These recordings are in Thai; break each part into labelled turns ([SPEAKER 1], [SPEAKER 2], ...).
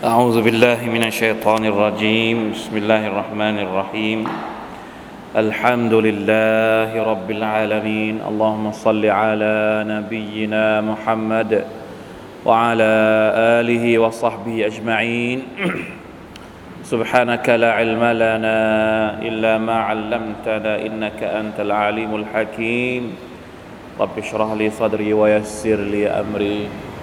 [SPEAKER 1] أعوذ بالله من الشيطان الرجيم بسم الله الرحمن الرحيم الحمد لله رب العالمين اللهم صل على نبينا محمد وعلى آله وصحبه أجمعين سبحانك لا علم لنا إلا ما علمتنا إنك أنت العليم الحكيم رب اشرح لي صدري ويسر لي أمري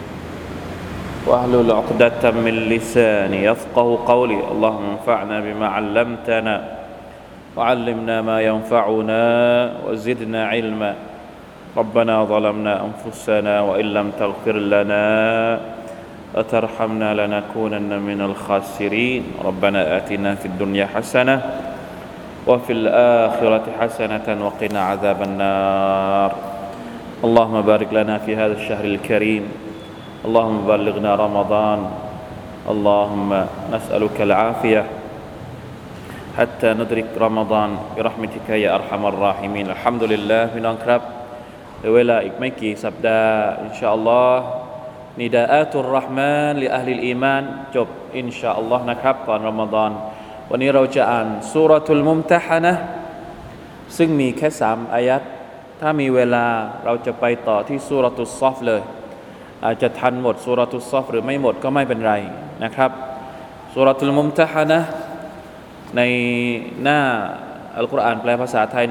[SPEAKER 1] واحلل عقدة من لساني يفقه قولي اللهم انفعنا بما علمتنا وعلمنا ما ينفعنا وزدنا علما ربنا ظلمنا أنفسنا وإن لم تغفر لنا وترحمنا لنكونن من الخاسرين ربنا آتنا في الدنيا حسنة وفي الآخرة حسنة وقنا عذاب النار اللهم بارك لنا في هذا الشهر الكريم اللهم بلغنا رمضان اللهم نسألك العافية حتى ندرك رمضان برحمتك يا أرحم الراحمين الحمد لله พี่น้องครับเหลือเวลาอีกไม่กี่สัปดาห์อินชาอัลลอฮ์นิดาอะตุรเราะห์มานลิอะห์ลิลอีมานจบอินชาอัลลอฮ์นะครับก่อนรอมฎอนวันนี้เราจะอ่านซูเราะตุลมุมตะฮะนะห์ซึ่งมีแค่3อายัดถ้ามีเวลาเราจะไปต่อที่ซูเราะตุศศอฟเลยอาจจะทันหมดซูเราะตุศศอฟหรือไม่หมดก็ไม่เป็นไรนะครับซูเราะตุลมุมตะฮะนะห์ในหน้าอัลกุรอานแปลภาษาไทย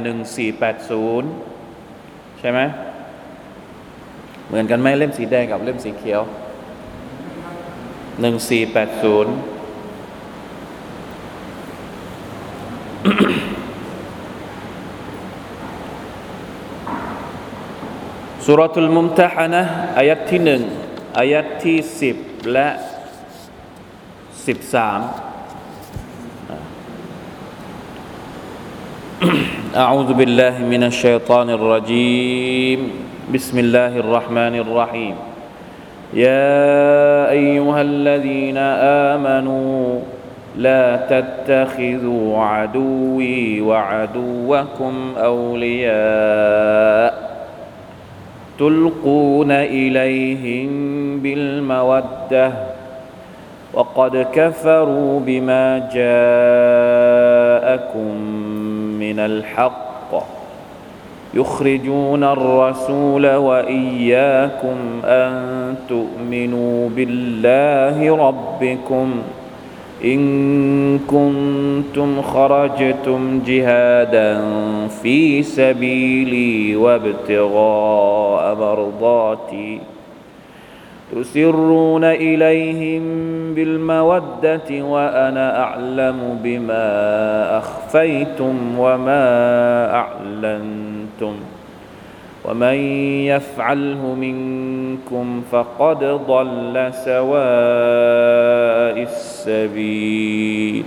[SPEAKER 1] 1480ใช่ไหมเหมือนกันไหมเล่มสีแดงกับเล่มสีเขียว1480ซูเราะตุลมุมตะฮะนะห์อายัดที่1อายัดที่10และ13أعوذ بالله من الشيطان الرجيم بسم الله الرحمن الرحيم يا أيها الذين آمنوا لا تتخذوا عدوي وعدوكم أولياء تلقون إليهم بالمودة وقد كفروا بما جاءكم من الحق يخرجون الرسول وإياكم أن تؤمنوا بالله ربكم إن كنتم خرجتم جهادا في سبيلي وابتغاء مرضاتي تسرون إليهم بالمودة وأنا أعلم بما أخفيتم وما أعلنتم ومن يفعله منكم فقد ضل سواء السبيل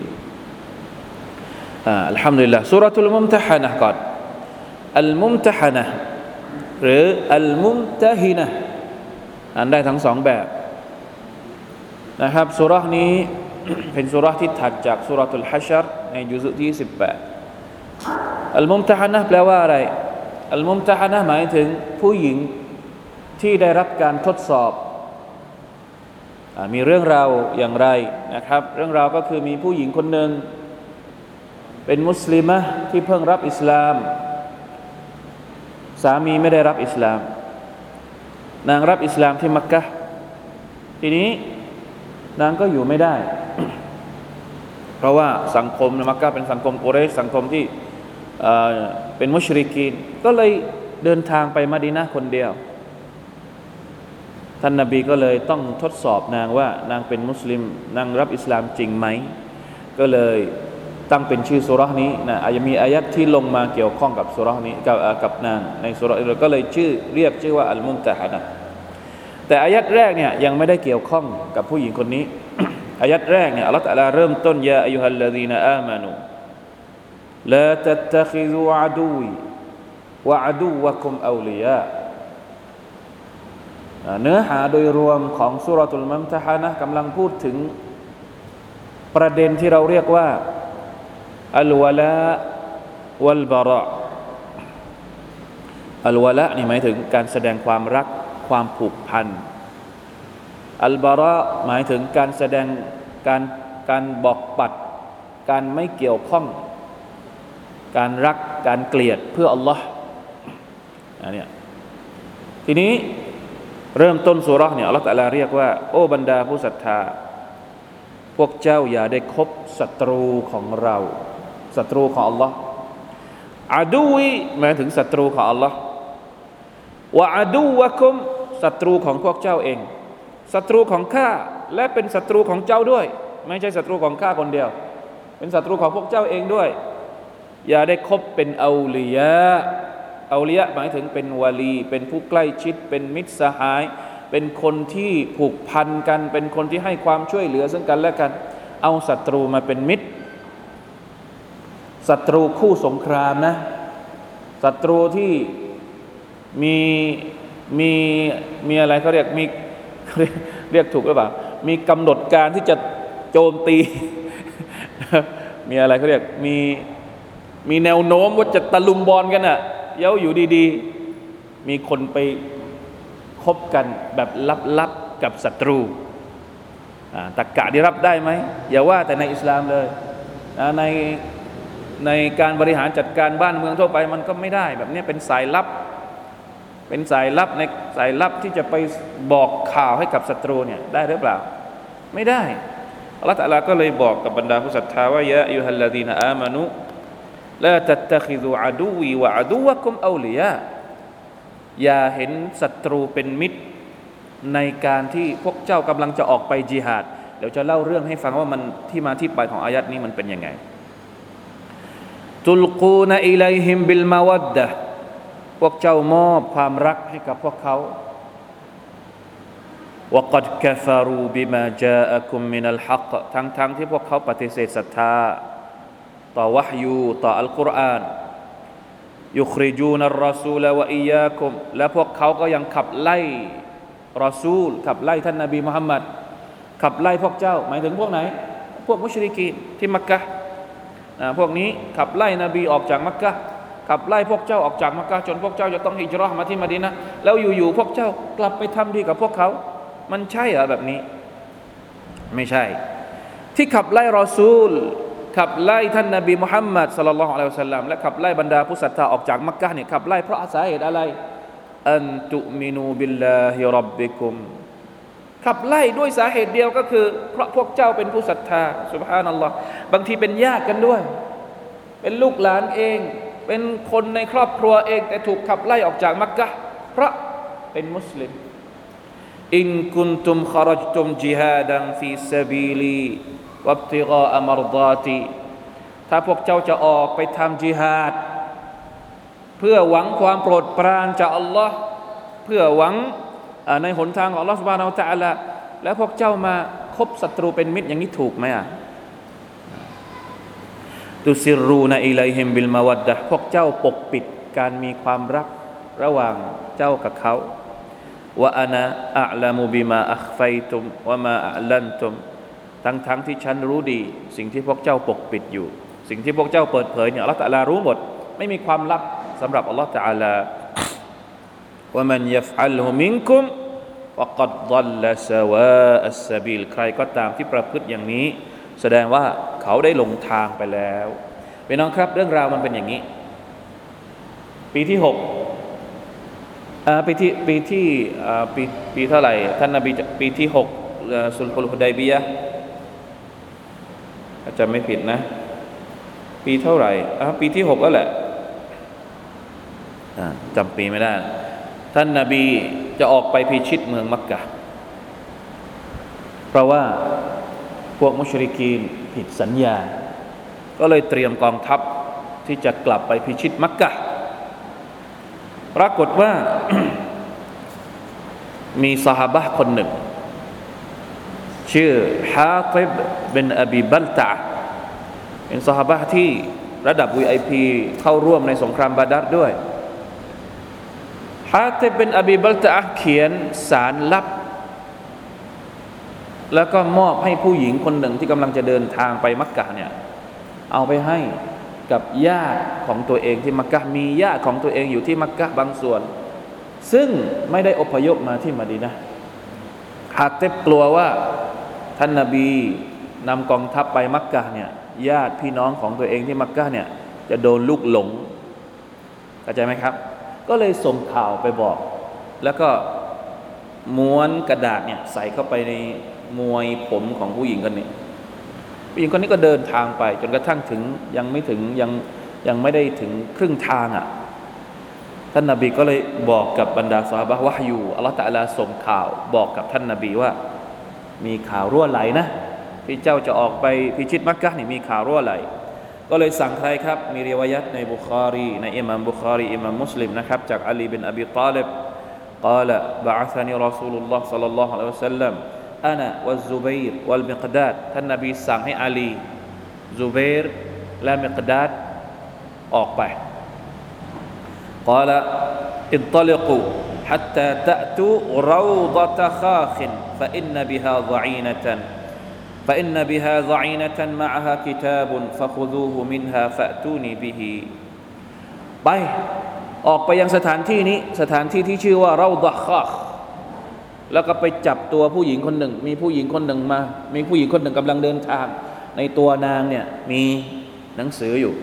[SPEAKER 1] الحمد لله سورة الممتحنة قال الممتحنة หรือ الممتهنة อ่านได้ทั้ง2แบบนะครับซูเราะห์นี้ เป็นซูเราะห์ที่ถัดจากซูเราะตุลฮัชรในยุซุที่18อัลมุมตะฮะนะห์แปลว่าอะไรอัลมุมตะฮะนะห์หมายถึงผู้หญิงที่ได้รับการทดสอบมีเรื่องราวอย่างไรนะครับเรื่องราวก็คือมีผู้หญิงคนหนึ่งเป็นมุสลิมะห์ที่เพิ่งรับอิสลามสามีไม่ได้รับอิสลามนางรับอิสลามที่มักกะฮ์ทีนี้นางก็อยู่ไม่ได้ เพราะว่าสังคมในมักกะฮ์เป็นสังคมกุเรชสังคมที่เป็นมุชริกีนก็เลยเดินทางไปมะดีนะห์คนเดียวท่านนบีก็เลยต้องทดสอบนางว่านางเป็นมุสลิมนางรับอิสลามจริงไหมก็เลยตั้งเป็นชื่อซูเราะห์นี้นะอาจจะมีอายัดที่ลงมาเกี่ยวข้องกับซูเราะห์นี้กับนางในซูเราะห์ก็เลยเรียกชื่อว่าอัลมุมตะฮะนะห์แต่อายัดแรกเนี่ยยังไม่ได้เกี่ยวข้องกับผู้หญิงคนนี้ อายัดแรกเนี่ยอัลเลาะห์ตะอาลาเริ่มต้นยาอัยยูฮัลลซีนาอามานูลาตัตตะคิซูอะดูวีวะอะดูวะกุมเอาลิยาเนื้อหาโดยรวมของซูเราะตุลมุมตะฮะนะห์กำลังพูดถึงประเด็นที่เราเรียกว่าอัลวะลาวัลบะเราะ อัลวะละนี่หมายถึงการแสดงความรักความผูกพันอัลบาระหมายถึงการแสดงการการบอกปัดการไม่เกี่ยวข้องการรักการเกลียดเพื่ออัลลอฮ์อันนี้ทีนี้เริ่มต้นซูเราะห์เนี่ยอัลเลาะห์ตะอาลาเรียกว่าโอ้บรรดาผู้ศรัทธาพวกเจ้าอย่าได้คบศัตรูของเราศัตรูของอัลลอฮ์อาดูวีหมายถึงศัตรูของอัลลอฮ์วะอาดูวะกุมศัตรูของพวกเจ้าเองศัตรูของข้าและเป็นศัตรูของเจ้าด้วยไม่ใช่ศัตรูของข้าคนเดียวเป็นศัตรูของพวกเจ้าเองด้วยอย่าได้คบเป็นเอาลียะหมายถึงเป็นวาลีเป็นผู้ใกล้ชิดเป็นมิตรสหายเป็นคนที่ผูกพันกันเป็นคนที่ให้ความช่วยเหลือซึ่งกันและกันเอาศัตรูมาเป็นมิตรศัตรูคู่สงครามนะศัตรูที่มีอะไรเขาเรียกเรียกถูกหรือเปล่ามีกำหนดการที่จะโจมตีมีอะไรเขาเรียกมีแนวโน้มว่าจะตะลุมบอลกันน่ะเย้าอยู่ดีๆมีคนไปคบกันแบบลับๆกับศัตรูตรรกะที่รับได้ไหมอย่าว่าแต่ในอิสลามเลยในการบริหารจัดการบ้านเมืองทั่วไปมันก็ไม่ได้แบบนี้เป็นสายลับในสายลับที่จะไปบอกข่าวให้กับศัตรูเนี่ยได้หรือเปล่าไม่ได้อัลเลาะห์ตะอาลาก็เลยบอกกับบรรดาผู้ศรัทธาว่ายะอัยยูฮัลลดีนอามานุลาตัตตะคิซุอะดูวีวะอะดูวะกุมเอาลิยาอย่าเห็นศัตรูเป็นมิตรในการที่พวกเจ้ากำลังจะออกไปญิฮาดเดี๋ยวจะเล่าเรื่องให้ฟังว่ามันที่มาที่ไปของอายัดนี้มันเป็นยังไงตุลกูนอิลัยฮิมบิลมาวัดดะห์พวกเจ้ามอบความรักให้กับพวกเขาวะกัดกะฟารูบิมาจาอะกุมมินัลฮักทั้งที่พวกเขาปฏิเสธศรัทธาต่อวะห์ยูต่ออัลกุรอานยุคริจูนัรรอซูลวะอียากุมและพวกเขาก็ยังขับไล่รอซูลขับไล่ท่านนบีมุฮัมมัดขับไล่พวกเจ้าหมายถึงพวกไหนพวกมุชริกีนที่มักกะฮ์พวกนี้ขับไล่นบีออกจากมักกะฮ์ขับไล่พวกเจ้าออกจากมักกะฮ์จนพวกเจ้าจะต้องฮิจเราะห์มาที่มะดีนะห์แล้วอยู่ๆพวกเจ้ากลับไปทำดีกับพวกเขามันใช่เหรอแบบนี้ไม่ใช่ที่ขับไล่รอซูลขับไล่ท่านนบีมุฮัมมัดศ็อลลัลลอฮุอะลัยฮิวะซัลลัมและขับไล่บรรดาผู้ศรัทธาออกจากมักกะฮ์เนี่ยขับไล่เพราะสาเหตุอะไรอันตุมินูบิลลาฮิร็อบบิกุมขับไล่ด้วยสาเหตุเดียวก็คือเพราะพวกเจ้าเป็นผู้ศรัทธาซุบฮานัลลอฮ์บางทีเป็นญาติกันด้วยเป็นลูกหลานเองเป็นคนในครอบครัวเองแต่ถูกขับไล่ออกจากมักกะฮ์เพราะเป็นมุสลิมอินกุนตุมคารจตุมจิฮาดันฟีซะบีลีวับติกาอัมรฎาติถ้าพวกเจ้าจะออกไปทำจิฮาดเพื่อหวังความโปรดปรานจากอัลลอฮ์เพื่อหวังในหนทางของอัลลอฮ์ซุบฮานะฮูวะตะอาลาแล้วพวกเจ้ามาคบศัตรูเป็นมิตรอย่างนี้ถูกไหมตุซิรูนะอิลัยฮิมบิลมาวัดดะห์พวกเจ้าปกปิดการมีความรักระหว่างเจ้ากับเขาวะอานะอะอ์ละมุบิมาอัคฟัยตุมวะมาอะลันตุมทั้งที่ฉันรู้ดีสิ่งที่พวกเจ้าปกปิดอยู่สิ่งที่พวกเจ้าเปิดเผยเนี่ยอัลเลาะห์ตะอาลารู้หมดไม่มีความลับสำหรับอัลเลาะห์ตะอาลาวะมันยัฟอัลฮุมินกุมฟะกัดฎัลละซะวาอัสซะบีลใครก็ตามที่ประพฤติอย่างนี้แสดงว่าเขาได้หลงทางไปแล้วพี่น้องครับเรื่องราวมันเป็นอย่างนี้ปีที่6ปีเท่าไหร่ท่านนบีปีที่6สุลฮุลฮุดัยบียะห์อาจจะไม่ผิดนะปีเท่าไหร่ปีที่6แล้วแหละจำปีไม่ได้ท่านนบีจะออกไปพิชิตเมืองมักกะฮ์เพราะว่าพวกมุชริกีนผิดสัญญาก็เลยเตรียมกองทัพที่จะกลับไปพิชิตมักกะฮ์ปรากฏว่า มีซอฮาบะห์คนหนึ่งชื่อฮาติบบินอบีบัลตะห์เป็นซอฮาบะห์ที่ระดับ VIP เข้าร่วมในสงครามบาดัรด้วยฮาติบบินอบีบัลตะห์เขียนสารลับแล้วก็มอบให้ผู้หญิงคนหนึ่งที่กำลังจะเดินทางไปมักกะฮ์เนี่ยเอาไปให้กับญาติของตัวเองที่มักกะฮ์มีญาติของตัวเองอยู่ที่มักกะฮ์บางส่วนซึ่งไม่ได้อพยพมาที่มะดีนะห์ฮาติบกลัวว่าท่านนบีนำกองทัพไปมักกะฮ์เนี่ยญาติพี่น้องของตัวเองที่มักกะฮ์เนี่ยจะโดนลูกหลงเข้าใจไหมครับก็เลยส่งข่าวไปบอกแล้วก็ม้วนกระดาษเนี่ยใส่เข้าไปในมวยผมของผู้หญิงคนนี้ผู้หญิงคนนี้ก็เดินทางไปจนกระทั่งถึงยังไม่ได้ถึงครึ่งทางอ่ะท่านนบีก็เลยบอกกับบรรดาซอฮาบะห์วะฮยูอัลเลาะห์ตะอาลาส่งข่าวบอกกับท่านนบีว่ามีข่าวรั่วไหลนะที่เจ้าจะออกไปพิชิตมักกะฮ์นี่มีข่าวรั่วไหลก็เลยสั่งใครครับมีริวายัตในบุคอรีในอิหม่ามบุคอรีอิหม่ามมุสลิมนะครับจากอาลีบินอบีฏอลิบ قال بعثني رسول الله صلى الله عليه وسلم أنا والزبير والمقداد ท่านนบีสั่งให้อาลีซุบัยรและมิกดาดออกไป قال انطلقوا حتى تأتوا روضة خاخ فإن بها ضعينة معها كتاب فخذوه منها فأتوني به ไปออกไปยังสถานที่นี้สถานที่ที่ชื่อว่าเราฎะคาคแล้วก็ไปจับตัวผู้หญิงคนหนึ่งมีผู้หญิงคนหนึ่งกำลังเดินทางในตัวนางเนี่ยมีหนังสืออยู่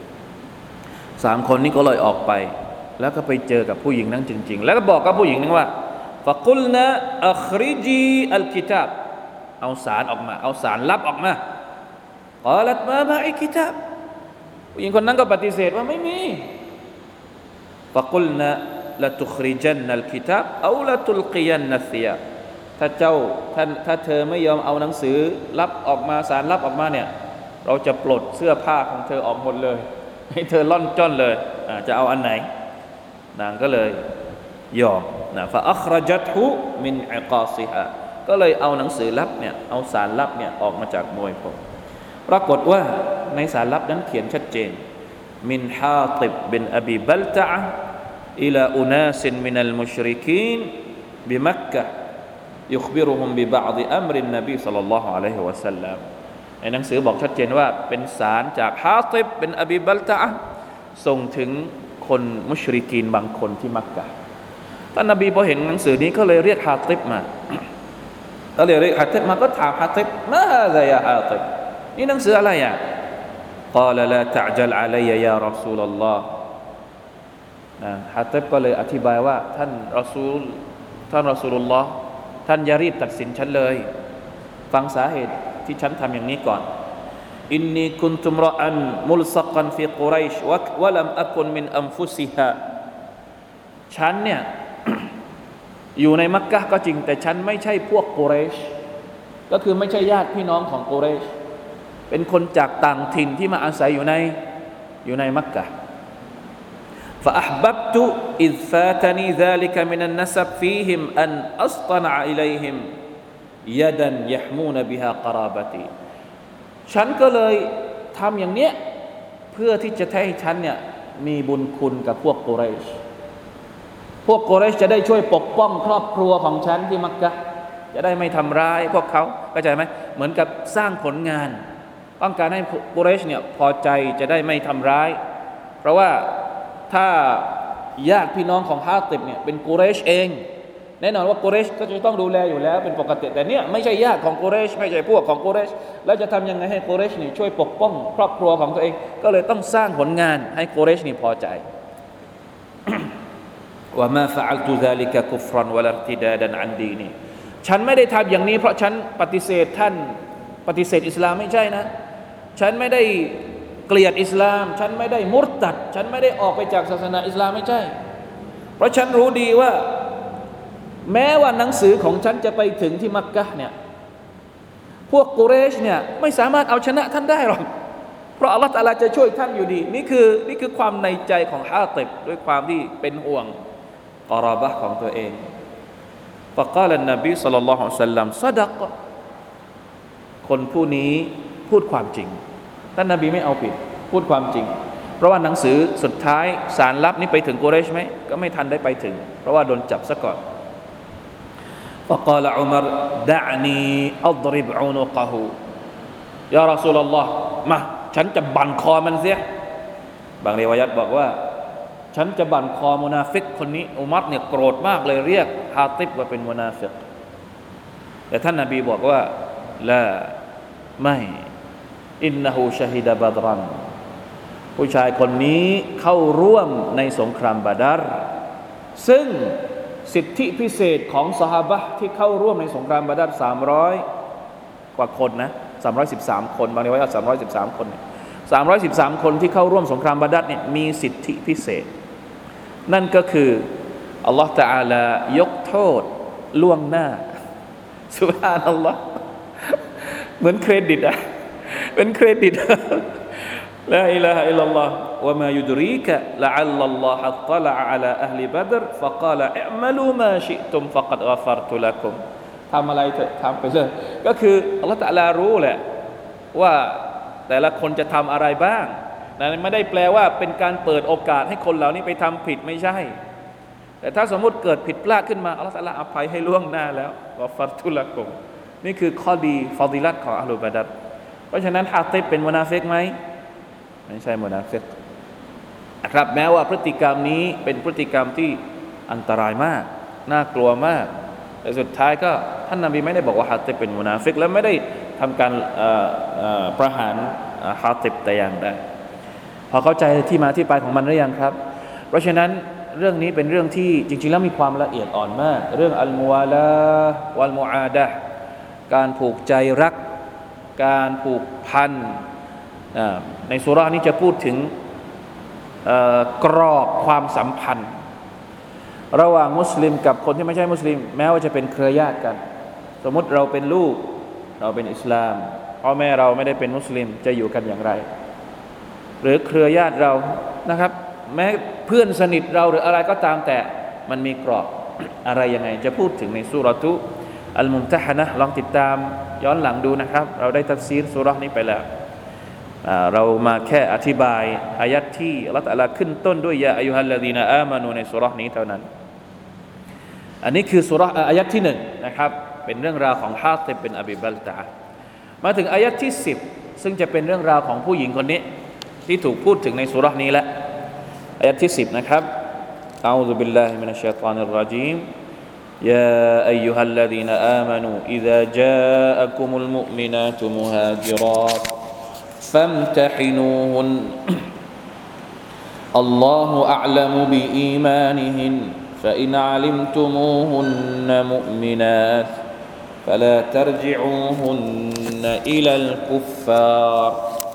[SPEAKER 1] 3คนนี้ก็เลยออกไปแล้วก็ไปเจอกับผู้หญิงนั้นจริงๆแล้วก็บอกกับผู้หญิงนั้นว่าฟะกุลนะอัคริจีอัลกิตาบเอาสารออกมาเอาสารลับออกมากาลัตมาบะอิกิตาบผู้หญิงคนนั้นก็ปฏิเสธว่าไม่มีฟะกุลนะละตุคริจันนัลกิตาบเอาละตุลกิยันนัสซิยาถ้าเธอไม่ยอมเอาหนังสือลับออกมาสารลับออกมาเนี่ยเราจะปลดเสื้อผ้าของเธอออกหมดเลยให้เธอล่อนจ้อนเลยจะเอาอันไหนนางก็เลยยอมนะฟะอัครจัตฮุมินอิกาซิฮาก็เลยเอาหนังสือลับเนี่ยเอาสารลับเนี่ยออกมาจากมวยผมปรากฏว่าในสารลับนั้นเขียนชัดเจนมินฮาติบบินอบีบัลตะอะห์อิลาอุนาสมินัลมุชริกีนบิมักกะฮ์يخبرهم ببعض أمر النبي صلى الله عليه وسلم ในหนังสือบอกชัดเจนว่าเป็นสารจากฮาติบเป็นอบีบัลตะอะห์ส่งถึงคนมุชริกีนบางคนที่มักกะฮ์ท่านนบีพอเห็นหนังสือนี้ก็เลยเรียกฮาติบมาก็เลยเรียกฮาติบมาก็ถามฮาติบมาฮาซายาฮาติบนี่หนังสืออะไรอ่ะ قال لا تعجل علي يا رسول الله ฮาติบก็เลยอธิบายว่าท่านรอซูลุลลอฮ์ท่านอย่ารีบตัดสินฉันเลยฟังสาเหตุที่ฉันทำอย่างนี้ก่อนอินนีกุนตุมรอันมุลซักันฟีกุไรชวะลัมอะกุนมินอัมฟุซิฮาฉันเนี่ย อยู่ในมักกะฮ์ก็จริงแต่ฉันไม่ใช่พวกกุเรชก็คือไม่ใช่ญาติพี่น้องของกุเรชเป็นคนจากต่างถิ่นที่มาอาศัยอยู่ในมักกะฮ์فأحببت إذ فاتني ذلك من النسب فيهم أن أصطنع إليهم يدا يحمون بها قرابتي ฉันก็เลยทำอย่างเนี้ยเพื่อที่จะให้ฉันเนี่ยมีบุญคุณกับพวกกุเรชจะได้ช่วยปกป้องครอบครัวของฉันที่มักกะฮ์จะได้ไม่ทำร้ายพวกเขาเข้าใจไหมเหมือนกับสร้างผลงานต้องการให้กุเรชเนี่ยพอใจจะได้ไม่ทำร้ายเพราะว่าถ้าญาติพี่น้องของฮาติบเนี่ยเป็นกุเรชเองแน่นอนว่ากุเรชก็จะต้องดูแลอยู่แล้วเป็นปกติแต่เนี่ยไม่ใช่ญาติของกุเรชไม่ใช่พวกของกุเรชแล้วจะทำยังไงให้กุเรชนี่ช่วยปกป้องครอบครัวของตัวเองก็เลยต้องสร้างผลงานให้กุเรชนี่พอใจ ว่ามาฟะอัลตุซาลิกะกุฟรันวะลัรติดาดันอันดีนีฉันไม่ได้ทำอย่างนี้เพราะฉันปฏิเสธท่านปฏิเสธอิสลามไม่ใช่นะฉันไม่ได้เกลียดอิสลามฉันไม่ได้มุรตัดฉันไม่ได้ออกไปจากศาสนาอิสลามไม่ใช่เพราะฉันรู้ดีว่าแม้ว่าหนังสือของฉันจะไปถึงที่มักกะฮ์เนี่ยพวกกุเรชเนี่ยไม่สามารถเอาชนะท่านได้หรอกเพราะอัลเลาะห์ตะอาลาจะช่วยท่านอยู่ดีนี่คือความในใจของฮาติบด้วยความที่เป็นห่วงกอรอบะห์ของตัวเองفقال النبي صلى الله عليه وسلم صدق คนผู้นี้พูดความจริงท่านนบีไม่เอาผิดพูดความจริงเพราะว่าหนังสือสุดท้ายสารลับนี้ไปถึงกุเรชไหมก็ไม่ทันได้ไปถึงเพราะว่าโดนจับซะก่อน فقال عمر دعني أضرب عنقه يا رسول الله มาฉันจะบั่นคอมันเสียบางริวายัตบอกว่าฉันจะบั่นคอมุนาฟิกคนนี้อุมัรเนี่ยโกรธมากเลยเรียกฮาติบว่าเป็นมุนาฟิกแต่ท่านนบีบอกว่าลาไม่อินนะฮูชะฮิดะบัดรันผู้ชายคนนี้เข้าร่วมในสงครามบาดัรซึ่งสิทธิพิเศษของซอฮาบะห์ที่เข้าร่วมในสงครามบาดัร300กว่าคนนะ313คนบางทีว่า313คน313คนที่เข้าร่วมสงครามบาดัรเนี่ยมีสิทธิพิเศษนั่นก็คืออัลลอฮฺตะอาลายกโทษล่วงหน้าซุบฮานัลลอฮ์เหมือนเครดิตอะเป็นเครดิตลาอิลาฮะอิลลัลลอฮ์วะมายุดรีกะละอัลลัลลอฮะอัฏละอะลาอะห์ลิบัดรฟะกาลอิอ์มะลูมาชิอ์ตุมฟะกัดฆะฟัรตุละกุมทำอะไรเถอะทำไปเลยก็คืออัลลอฮฺตะอาลารู้แหละว่าแต่ละคนจะทำอะไรบ้างนั่นไม่ได้แปลว่าเป็นการเปิดโอกาสให้คนเหล่านี้ไปทำผิดไม่ใช่แต่ถ้าสมมุติเกิดผิดพลาดขึ้นมาอัลลอฮฺตะอาลาอภัยให้ล่วงหน้าแล้วฆะฟัรตุละกุมนี่คือข้อดีฟอฎิลัตของอะห์ลุบาดัรเพราะฉะนั้นฮาติบเป็นมุนาฟิกไหมไม่ใช่มุนาฟิกนะครับแม้ว่าพฤติกรรมนี้เป็นพฤติกรรมที่อันตรายมากน่ากลัวมากแต่สุดท้ายก็ท่านนบีไม่ได้บอกว่าฮาติบเป็นมุนาฟิกและไม่ได้ทำการประหารฮาติบแต่อย่างใดพอเข้าใจที่มาที่ไปของมันหรือยังครับเพราะฉะนั้นเรื่องนี้เป็นเรื่องที่จริงๆแล้วมีความละเอียดอ่อนมากเรื่องอัลมุวาลาวัลมุอาดะห์การผูกใจรักการผูกพันในซูเราะห์นี้จะพูดถึงกรอบความสัมพันธ์ระหว่างมุสลิมกับคนที่ไม่ใช่มุสลิมแม้ว่าจะเป็นเครือญาติกันสมมติเราเป็นลูกเราเป็นอิสลามพ่อแม่เราไม่ได้เป็นมุสลิมจะอยู่กันอย่างไรหรือเครือญาติเรานะครับแม้เพื่อนสนิทเราหรืออะไรก็ตามแต่มันมีกรอบอะไรยังไงจะพูดถึงในซูเราะตุอัลมุมตะฮะนะห์ลองติดตามย้อนหลังดูนะครับเราได้ตัฟซีรซูเราะห์นี้ไปแล้วเรามาแค่อธิบายอายัดที่อัลเลาะห์ตะอาลาขึ้นต้นด้วยยาอัยยูฮัลลซีนาอามานูในซูเราะห์นี้เท่านั้นอันนี้คือซูเราะห์อายัดที่1นะครับเป็นเรื่องราวของฮาติบบินอบีบัลตะห์มาถึงอายัดที่10ซึ่งจะเป็นเรื่องราวของผู้หญิงคนนี้ที่ถูกพูดถึงในซูเราะห์นี้แล้วอายัดที่10นะครับอะอูซุบิลลาฮิมินัชชัยฏอนิรเราะญีมيا أيها الذين آمنوا إذا جاءكم المؤمنات مهاجرات فامتحنوهن الله أعلم بإيمانهن فإن علمتموهن مؤمنات فلا ترجعوهن إلى الكفار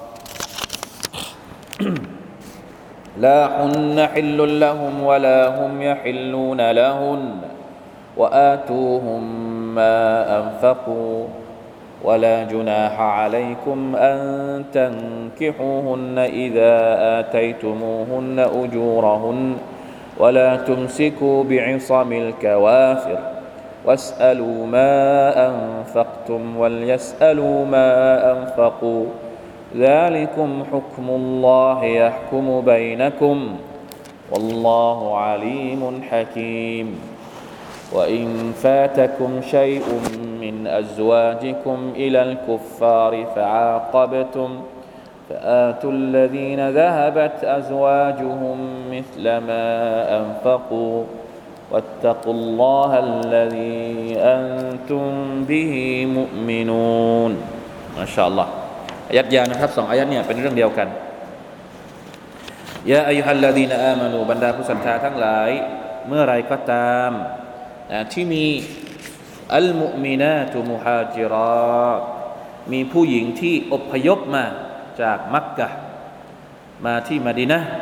[SPEAKER 1] لا هن حل لهم ولا هم يحلون لهن وآتوهم ما أنفقوا ولا جناح عليكم أن تنكحوهن إذا آتيتموهن أجورهن ولا تمسكوا بعصم الكوافر واسألوا ما أنفقتم وليسألوا ما أنفقوا ذلكم حكم الله يحكم بينكم والله عليم حكيم وإن فاتكم شيء من أزواجكم إلى الكفار فعاقبتم فآتوا الذين ذهبت أزواجهم مثل ما أنفقوا واتقوا الله الذي أنتم به مؤمنون ما شاء الله อายัดยาวนะครับ2อายัดเนี่ยเป็นเรื่องเดียวกันยาอัยยูฮัลลซีนาอามานูบรรดาผู้ศรัทธาทั้งหลายเมื่อไรก็ตามที่มีอัลมุอ์มินาตุมุฮาจิรอตมีผู้หญิงที่อพยพมาจากมักกะฮ์มาที่มะดีนะห์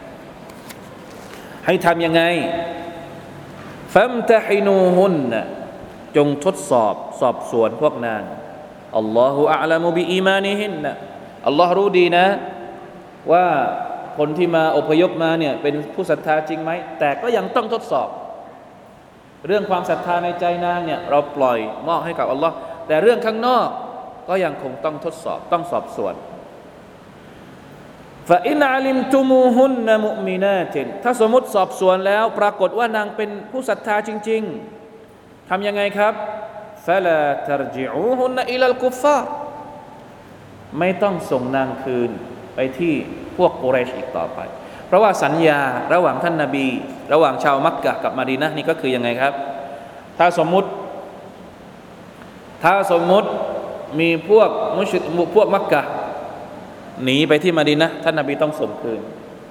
[SPEAKER 1] ให้ทำยังไงฟัมตะฮินูฮุนจงทดสอบสวนพวกนางอัลลอฮุอะลัมุบิอีมานิฮินอัลลอฮ์รู้ดีนะว่าคนที่มาอพยพมาเนี่ยเป็นผู้ศรัทธาจริงไหมแต่ก็ยังต้องทดสอบเรื่องความศรัทธาในใจนางเนี่ยเราปล่อยมอบให้กับอัลลอฮ์แต่เรื่องข้างนอกก็ยังคงต้องทดสอบต้องสอบสวนฟะอินอะลิมตุมูฮุนนะมุอ์มินาตินถ้าสมมุติสอบสวนแล้วปรากฏว่านางเป็นผู้ศรัทธาจริงๆทำยังไงครับฟะลาตัรญิอูฮุนนะอิลัลกุฟฟาร์ไม่ต้องส่งนางคืนไปที่พวกกุเรชอีกต่อไปเพราะว่าสัญญาระหว่างท่านนบีระหว่างชาวมักกะฮ์กับมะดีนะห์นี่ก็คือยังไงครับถ้าสมมุติมีพวกมุชริกพวกมักกะฮ์หนีไปที่มะดีนะห์ท่านนบีต้องส่งคืน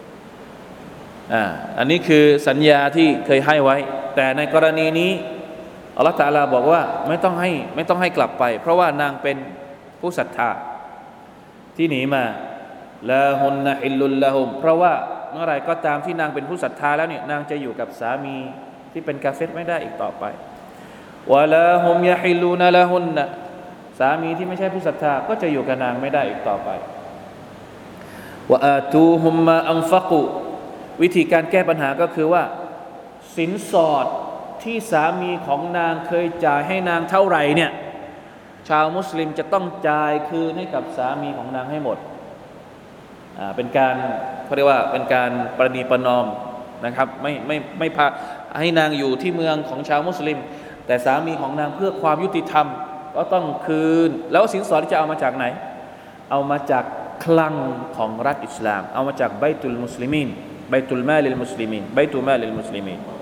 [SPEAKER 1] อันนี้คือสัญญาที่เคยให้ไว้แต่ในกรณีนี้อัลลอฮฺตะอาลาบอกว่าไม่ต้องให้กลับไปเพราะว่านางเป็นผู้ศรัทธาที่หนีมาลาฮุนนะฮิลลุลละฮุมเพราะว่าเมื่อไรก็ตามที่นางเป็นผู้ศรัทธาแล้วเนี่ยนางจะอยู่กับสามีที่เป็นกาเฟรไม่ได้อีกต่อไปวะลาฮุมยะฮิลลูนะละฮุนนะสามีที่ไม่ใช่ผู้ศรัทธาก็จะอยู่กับนางไม่ได้อีกต่อไปวะอาตูฮุมมาอันฟักูวิธีการแก้ปัญหาก็คือว่าสินสอดที่สามีของนางเคยจ่ายให้นางเท่าไหร่เนี่ยชาวมุสลิมจะต้องจ่ายคืนให้กับสามีของนางให้หมดเป็นการเขาเรียกว่าเป็นการประนีประนอมนะครับไม่พาให้นางอยู่ที่เมืองของชาวมุสลิมแต่สามีของนางเพื่อความยุติธรรมก็ต้องคืนแล้วสินสอดจะเอามาจากไหนเอามาจากคลังของรัฐอิสลามเอามาจากไบตุลมุสลิมีนไบตุลมาลิลมุสลิมีนไบตุลมาลิลมุสลิมีน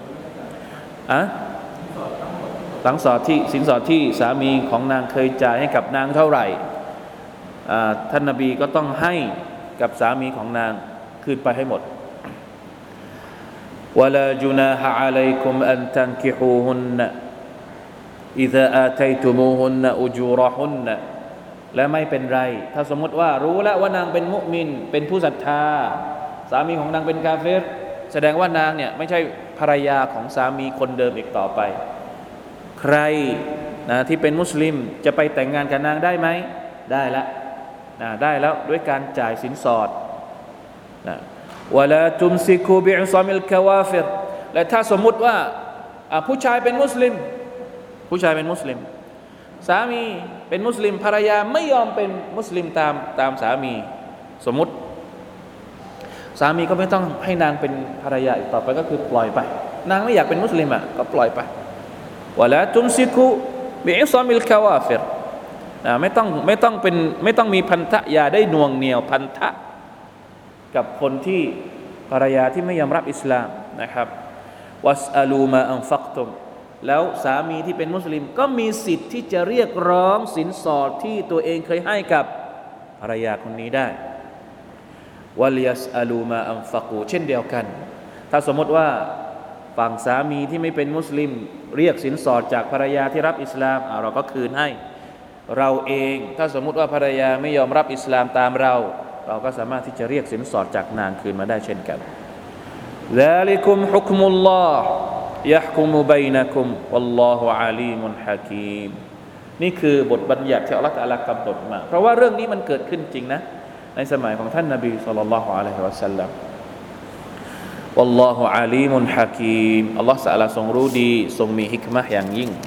[SPEAKER 1] สินสอดที่สามีของนางเคยจ่ายให้กับนางเท่าไหร่ท่านนบีก็ต้องให้กับสามีของนางคืนไปให้หมดวะลาจุนาฮะอะลัยกุมอันตันกิฮูฮุนนะอิซาอาตัยตุมูฮุนนะอุจูรฮุนนะและไม่เป็นไรถ้าสมมติว่ารู้แล้วว่านางเป็นมุมินเป็นผู้ศรัทธาสามีของนางเป็นกาเฟรแสดงว่านางเนี่ยไม่ใช่ภรรยาของสามีคนเดิมอีกต่อไปใครนะที่เป็นมุสลิมจะไปแต่งงานกับนางได้ไหมได้แล้วด้วยการจ่ายสินสอดนะวะลาตุมซิกูบิอิซามิลกะวาฟิรและถ้าสมมุติว่าผู้ชายเป็นมุสลิมสามีเป็นมุสลิมภรรยาไม่ยอมเป็นมุสลิมตามสามีสมมุติสามีก็ไม่ต้องให้นางเป็นภรรยาอีกต่อไปก็คือปล่อยไปนางไม่อยากเป็นมุสลิมก็ปล่อยไปวะลาตุมซิกูบิอิซามิลกะวาฟิรไม่ต้องมีพันธะอย่าได้หน่วงเหนี่ยวพันธะกับคนที่ภรรยาที่ไม่ยอมรับอิสลามนะครับวัสอาลูมาอันฟักตุมแล้วสามีที่เป็นมุสลิมก็มีสิทธิ์ที่จะเรียกร้องสินสอดที่ตัวเองเคยให้กับภรรยาคนนี้ได้วัลยัสอาลูมาอันฟักูเช่นเดียวกันถ้าสมมติว่าฝั่งสามีที่ไม่เป็นมุสลิมเรียกสินสอดจากภรรยาที่รับอิสลามเราก็คืนให้เราเองถ้าสมมุติว่าภรรยาไม่ยอมรับอิสลามตามเราก็สามารถที่จะเรียกสินสอดจากนางคืนมาได้เช่นกันซาลิกุมฮุกมุลลอฮ์ยะฮ์กุมุบัยนะกุมวัลลอฮุอะลีมุนฮะกีมนี่คือบทบัญญัติที่อัลเลาะห์ตะอาลากำหนดมาเพราะว่าเรื่องนี้มันเกิดขึ้นจริงนะในสมัยของท่านนบีศ็อลลัลลอฮุอะลัยฮิวะซัลลัมวัลลอฮุอะลีมุนฮะกีมอัลเลาะห์ตะอาลาทรงรู้ดีทรงมีฮิกมะห์อย่างยิ่ง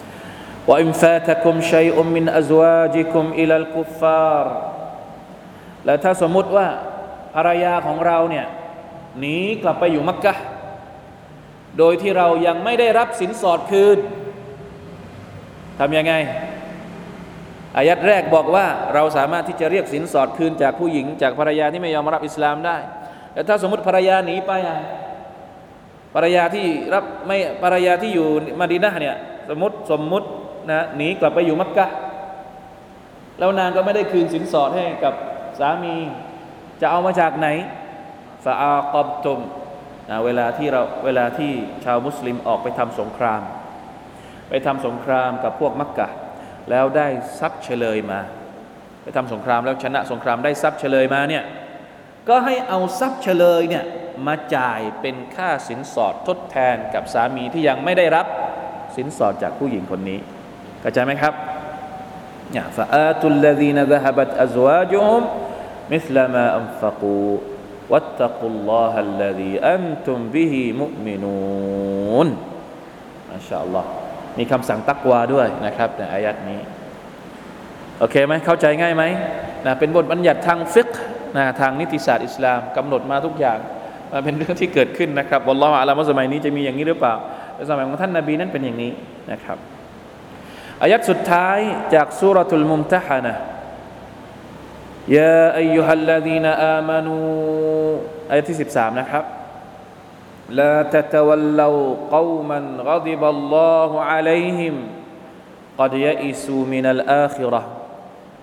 [SPEAKER 1] وإن فاتكم شيء من أزواجكم إلى الكفار และถ้าสมมุติว่าภรรยาของเราเนี่ยหนีกลับไปอยู่มักกะฮ์โดยที่เรายังไม่ได้รับสินสอดคืนทำยังไงอายัดแรกบอกว่าเราสามารถที่จะเรียกสินสอดคืนจากผู้หญิงจากภรรยาที่ไม่ยอมรับอิสลามได้แต่ถ้าสมมุติภรรยาหนีไปภรรยาที่อยู่มะดีนะห์เนี่ยสมมุตินะหนีกลับไปอยู่มักกะฮ์แล้วนางก็ไม่ได้คืนสินสอดให้กับสามีจะเอามาจากไหนฟะอากับตุมเวลาที่ชาวมุสลิมออกไปทำสงครามกับพวกมักกะฮ์แล้วได้ทรัพย์เฉลยมาไปทำสงครามแล้วชนะสงครามได้ทรัพย์เฉลยมาเนี่ยก็ให้เอาทรัพย์เฉลยเนี่ยมาจ่ายเป็นค่าสินสอดทดแทนกับสามีที่ยังไม่ได้รับสินสอดจากผู้หญิงคนนี้เข้าใจไหมครับเนี่ยฟะอาตุลลซีนซะฮะบัตอัซวาจุฮุมมิสลามาอันฟักูวัตตักุลลอฮัลลซีอันตุมบิฮิมุมินูนมาชาอัลลอฮ์มีคำสั่งตักวาด้วยนะครับในอายัดนี้โอเคไหมเข้าใจง่ายไหมนะเป็นบทบัญญัติทางฟิกห์นะทางนิติศาสตร์อิสลามกำหนดมาทุกอย่างมันเป็นเรื่องที่เกิดขึ้นนะครับวัลลอฮุอะลัมว่าสมัยนี้จะมีอย่างนี้หรือเปล่าแต่สมัยของท่านนบีนั้นเป็นอย่างนี้นะครับอายัดสุดท้ายจากซูเราะตุลมุมตะฮะนะห์ยาอัยยูฮัลลซีนอามานูอายัดที่13นะครับลาตะตะวัลลูกอมันฆฎิบัลลอฮุอะลัยฮิมกัดยะอิซูมินัลอาคิเราะห์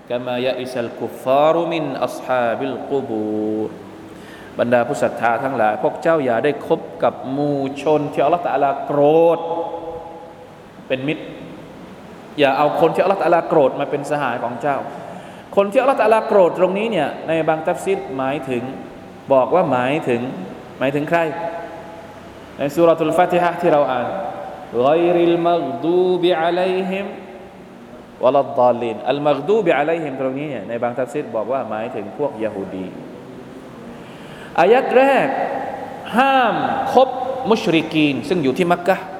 [SPEAKER 1] กะมายะอิซัลกุฟฟารุมินอัศฮาบิลกุบูรบรรดาผู้ศรัทธาทั้งหลายพวกเจ้าอย่าได้คบกับหมู่ชนที่อัลเลาะห์ตะอาลาโกรธเป็นมิตรอย่าเอาคนที่อัลเลาะห์ตะอาลาโกรธมาเป็นสหายของเจ้าคนที่อัลเลาะห์ตะอาลาโกรธตรงนี้เนี่ยในบางตัฟซีรหมายถึงบอกว่าหมายถึงใครในซูเราะตุลฟาติฮะห์ที่เราอ่านฆอยริลมัฆดูบิอะลัยฮิมวะลัดฎอลลีนอัลมัฆดูบิอะลัยฮิมตรงนี้เนี่ยในบางตัฟซีรบอกว่าหมายถึงพวกยะฮูดีอายัดแรกห้ามคบมุชริกีนซึ่งอยู่ที่มักกะฮ์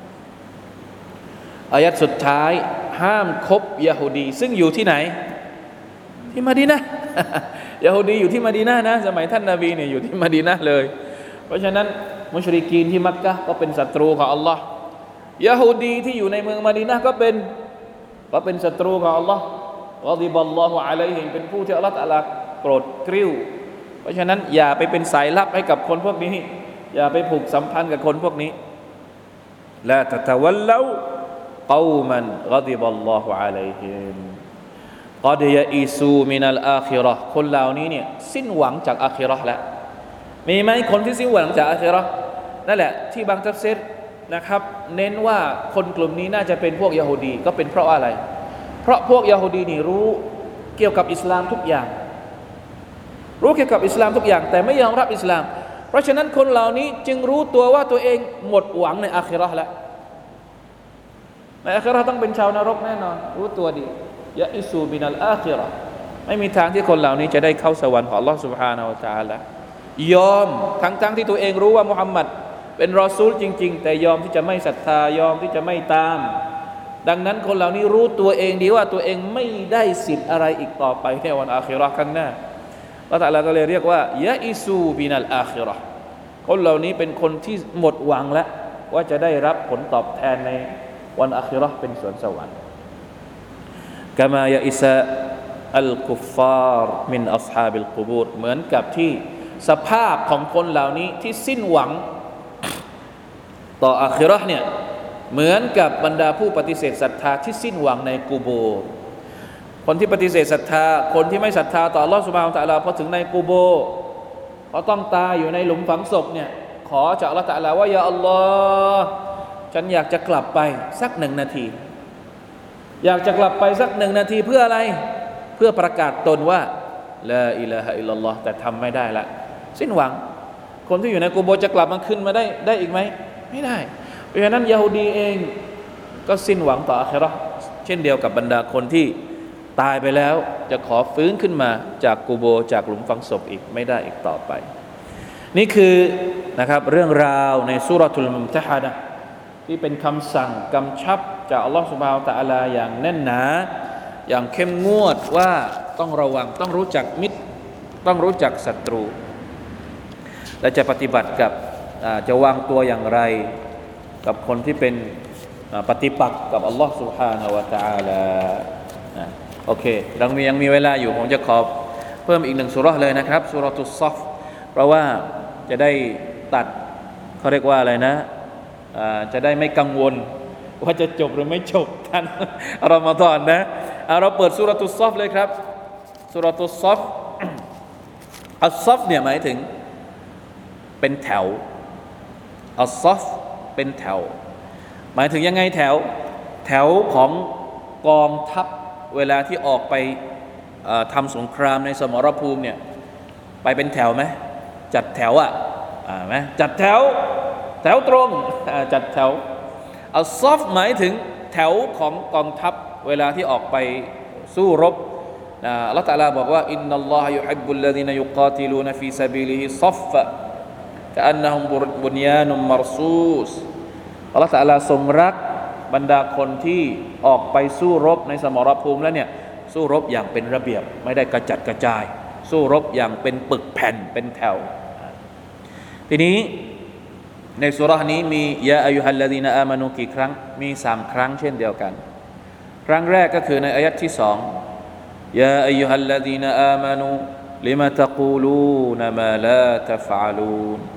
[SPEAKER 1] อายัดสุดท้ายห้ามคบยะฮูดีซึ่งอยู่ที่ไหนที่มะดีนะห์ ยะฮูดีอยู่ที่มะดีนะห์นะสมัยท่านนบีเนี่ยอยู่ที่มะดีนะห์เลยเพราะฉะนั้นมุชริกีนที่มักกะฮ์ก็เป็นศัตรูของอัลลอฮ์ยะฮูดีที่อยู่ในเมืองมะดีนะห์ก็เป็นศัตรูของอัลลอฮ์กอฎิบัลลอฮุอะลัยฮิมเป็นผู้ที่อัลเลาะห์ตะอาลาโกรธกริ้วเพราะฉะนั้นอย่าไปเป็นสายลับให้กับคนพวกนี้อย่าไปผูกสัมพันธ์กับคนพวกนี้ลาตะตะวัลลากอมันกอฎิบัลลอฮุอะลัยฮิมกอดยะอีซูมินัลอาคิเราะห์คนเหล่านี้เนี่ยสิ้นหวังจากอาคิเราะห์แล้วมีไหมคนที่สิ้นหวังจากอาคิเราะห์นั่นแหละที่บางตัฟซีรนะครับเน้นว่าคนกลุ่มนี้น่าจะเป็นพวกยะฮูดีก็เป็นเพราะอะไรเพราะพวกยะฮูดีนี่รู้เกี่ยวกับอิสลามทุกอย่างรู้เกี่ยวกับอิสลามทุกอย่างแต่ไม่ยอมรับอิสลามเพราะฉะนั้นคนเหล่านี้จึงรู้ตัวว่าตัวเองหมดหวังในอาคิเราะห์แล้วในอาคิเราะห์ต้องเป็นชาวนรกแน่นอนรู้ตัวดียะอิซูบินัลอาคิเราะห์ไม่มีทางที่คนเหล่านี้จะได้เข้าสวรรค์ของอัลเลาะห์ซุบฮานะฮูวะตะอาลายอมทั้งที่ตัวเองรู้ว่ามุฮัมมัดเป็นรอซูลจริงๆแต่ยอมที่จะไม่ศรัทธายอมที่จะไม่ตามดังนั้นคนเหล่านี้รู้ตัวเองดีว่าตัวเองไม่ได้สิทธิ์อะไรอีกต่อไปในวันอาคิเราะห์ข้างหน้าอัลเลาะห์ตะอาลาก็เลยเรียกว่ายะอิซูบินัลอาคิเราะห์คนเหล่านี้เป็นคนที่หมดหวังแล้วว่าจะได้รับผลตอบแทนในวันอาคิเราะห์เป็นสวนสวรรค์กะมายะอิซะอัลกุฟฟาร์มินอัศฮาบิลกุบูรเหมือนกับที่สภาพของคนเหล่านี้ที่สิ้นหวังต่ออาคิเราะห์เนี่ยเหมือนกับบรรดาผู้ปฏิเสธศรัทธาที่สิ้นหวังในกุโบร์คนที่ปฏิเสธศรัทธาคนที่ไม่ศรัทธาต่ออัลเลาะห์ซุบฮานะฮูวะตะอาลาพอถึงในกุโบร์เขาต้องตายอยู่ในหลุมฝังศพเนี่ยขอจากอัลเลาะห์ตะอาลาว่ายาอัลลอฮ์ฉันอยากจะกลับไปสัก1 นาทีอยากจะกลับไปสัก1 นาทีเพื่ออะไรเพื่อประกาศตนว่าลาอิลาฮะอิลลัลลอฮ์แต่ทำไม่ได้ละสิ้นหวังคนที่อยู่ในกุโบร์จะกลับมาขึ้นมาได้อีกไหมไม่ได้เพราะฉะนั้นยะฮูดีเองก็สิ้นหวังต่ออาคิเราะห์เช่นเดียวกับบรรดาคนที่ตายไปแล้วจะขอฟื้นขึ้นมาจากกุโบร์จากหลุมฝังศพอีกไม่ได้อีกต่อไปนี่คือนะครับเรื่องราวในซูเราะตุลมุมตะฮานะห์ที่เป็นคำสั่งกำชับจากอัลเลาะห์ซุบฮานะฮูวะตะอาลาอย่างแน่นหนาอย่างเข้มงวดว่าต้องระวังต้องรู้จักมิตรต้องรู้จักศัตรูและจะปฏิบัติกับจะวางตัวอย่างไรกับคนที่เป็นปฏิปักษ์กับอัลลอฮ์ سبحانه และ تعالى โอเคเรายังมีเวลาอยู่ผมจะขอเพิ่มอีก1 ซูเราะห์เลยนะครับซูเราะตุศศอฟเพราะว่าจะได้ตัดเขาเรียกว่าอะไรนะจะได้ไม่กังวลว่าจะจบหรือไม่จบทันรอมฎอนนะเราเปิดซูเราะตุศศอฟเลยครับซูเราะตุศศอฟอัศศอฟเนี่ยหมายถึงเป็นแถวอัศศอฟเป็นแถวหมายถึงยังไงแถวของกองทัพเวลาที่ออกไปทำสงครามในสมรภูมิเนี่ยไปเป็นแถวไหมจัดแถวไหมจัดแถวตรงจัดแถวอัศศอฟหมายถึงแถวของกองทัพเวลาที่ออกไปสู้รบอัลเลาะห์ตะอาลาบอกว่าอินนัลลอฮะยุฮิบบุลลซีนะยุกาติลูนฟีซะบีลิฮิศอฟฟะกะอันนะฮุมบุนยานุมมัรซูสอัลเลาะห์ตะอาลาทรงรักบรรดาคนที่ออกไปสู้รบในสมรภูมิแล้วเนี่ยสู้รบอย่างเป็นระเบียบไม่ได้กระจัดกระจายสู้รบอย่างเป็นปึกแผ่นเป็นแถวทีนี้ในซูเราะห์นี้มียาอัยยูฮัลลซีนะอามานูกี่ครั้งมี3 ครั้งเช่นเดียวกันครั้งแรกก็คือในอายะห์ที่2ยาอัยยูฮัลลซีนะอามานูลิมะตะกูลูนมาลาตัฟอะลูน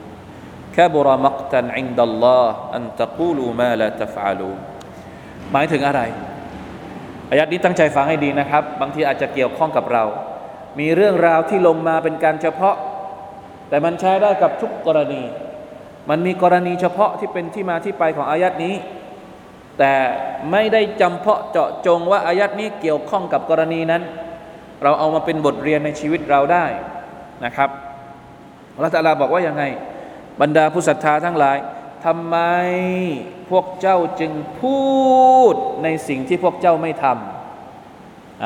[SPEAKER 1] كبر مقتا عند الله أن تقولوا ما لا تفعلون หมายถึงอะไรอายัดนี้ตั้งใจฟังให้ดีนะครับบางทีอาจจะเกี่ยวข้องกับเรามีเรื่องราวที่ลงมาเป็นการเฉพาะแต่มันใช้ได้กับทุกกรณีมันมีกรณีเฉพาะที่เป็นที่มาที่ไปของอายัดนี้แต่ไม่ได้จำเพาะเจาะจงว่าอายัดนี้เกี่ยวข้องกับกรณีนั้นเราเอามาเป็นบทเรียนในชีวิตเราได้นะครับอัลเลาะห์ตะอาลาบอกว่ายังไงบรรดาผู้ศรัทธาทั้งหลายทำไมพวกเจ้าจึงพูดในสิ่งที่พวกเจ้าไม่ทำ